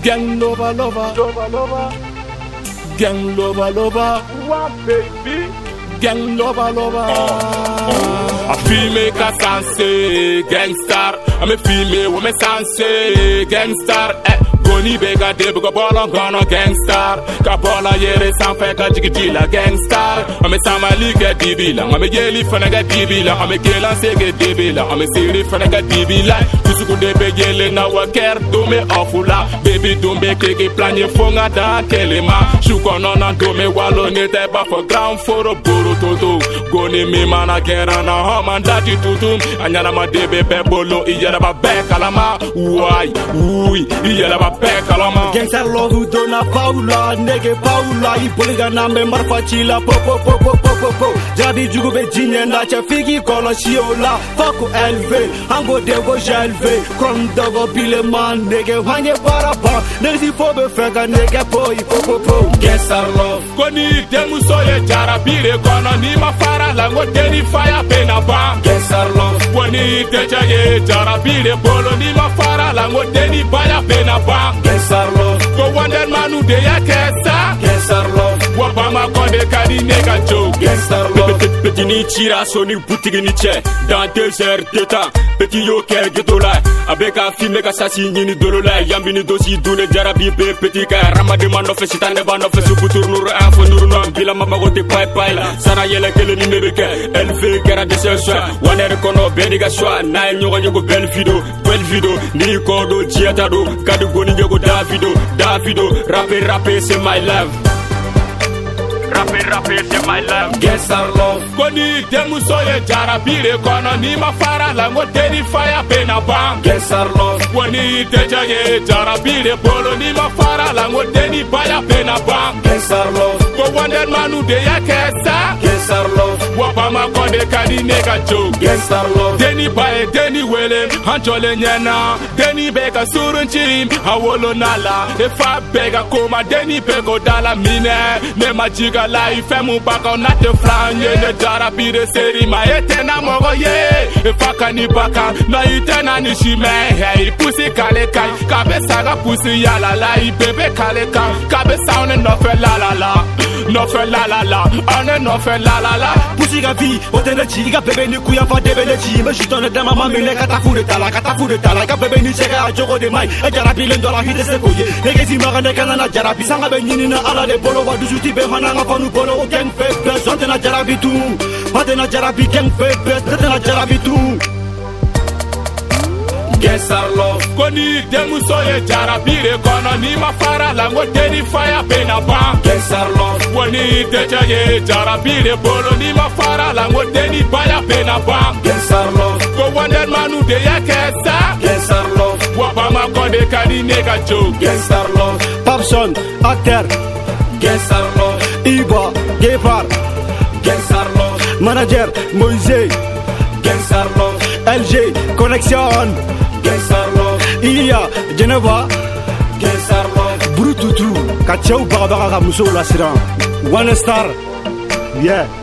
Gang lover, lover, lover, lover. Gang lover, lover. What baby? Gang lover, lover. A female ka sanse gangstar. I'm a female woman sanse gangstar. Goni bega de buga bola gana gangstar. Ka bola yere sanfe ka jigi la gangstar. I'm a samali ke dibila. I'm a yeli fana ke dibila. I'm a gelan se ke dibila. I'm a siri fana ke dibila. Tusuku de be yele na wa ker do me afula. Baby do me keke planye fonga da kelema. Shuko nona do me walo ne te ba for ground for a buru toto. Goni mi mana gera na hama ndati tutum. Anyana ma debe pe bolo iyera ba be kalama. Why? Ui iyera ba be kalama. Gangster love dona Paula, nege Paula. Ipoliga na me marfa chila po po po po po po po. Jabi jugu be jinye na cha figi kola shiola. Faku elve, hango dego jelve. Krom dogo pile man nege wange baraba. Negi fobe fega nege poi po po po. Gangster love. Koni demu soye jara bire kono ni mafara lango deni fire pena ba. Gangster love. Koni teja ye jara bire bolo ni mafara lango deni baya pena ba. Gangster love. Go wonder manu de ya kesa. Gangster love. Wabama konde kadi nega joke. Gangster love. Petit ni tira soni boutique ni tche. Dans 2 heures de temps. Petit yo ke getola. Avec a film ka sasi ni dolola. Yambini dosi dune jarabi be petit ka ramade mando fe sitane bando fe subutur nur afo nur no bila mama gote pai pai la. Sara yele kele ni mebeke. Elle fait gara de ce soir. Waner kono bediga soir. Na nyogo nyogo belle video. Ni kodo jiata do. Kadu goni nyogo Davido. Rapper c'est my love. Rapper c'est my love. Gangster love. Koni demu soye jara bire kono ni mafara lango deni fire pena ba. Gangster love. Koni teja ye jara bire bolo ni mafara lango deni baya pena ba. Gangster love. Go wonder manu de ya kesa. Gangster love. Wabama konde kadi nega joke. Gangster love. Deni bae deni wele hanchole nyena. Deni bega surunchim hawolo nala. Efa bega koma deni bego dala mine. Ne majiga life mu baka na te flanye ne jara bire seri ma etena mogo ye. Efa kani baka na itena ni shime. Hey pussy kale kai kabe saga pussy ya la la. Bebe kale kai kabe sound no fe la la la. No fe la la la. On no fe la la la. Pussy ga vi otene chiga bebe ni kuya fa debe le chi. Me shitone de mama mine kata fu de tala ka bebe ni chega a jogo de mai. E jara bile ndola hide se koye. Nege si maga ne kana na jara bi sanga be nyini na ala de bolo wa dusuti be hana nga fanu bolo o gang fe best. Ote na jara bi tu. Ote na jara bi gang fe best. Ote na jara bi tu. Gangster love. Koni demu soye jara bire kono ni mafara lango deni fire pena ba. Gangster love. Koni teja ye jara bire bolo ni mafara lango deni baya pena ba. Gangster love. Go wonder manu de ya kesa. Gangster love. Wabama konde kadi nega joke. Gangster love. Papson, acteur. Gangster love. Iba, Gepard. Gangster love. Manager, Moïse. Gangster love. LG, Connexion. Gangster love. Iya, Geneva. Gangster love. Brututu, Kachau Barabaga Muso Lasiran. One star. Yeah.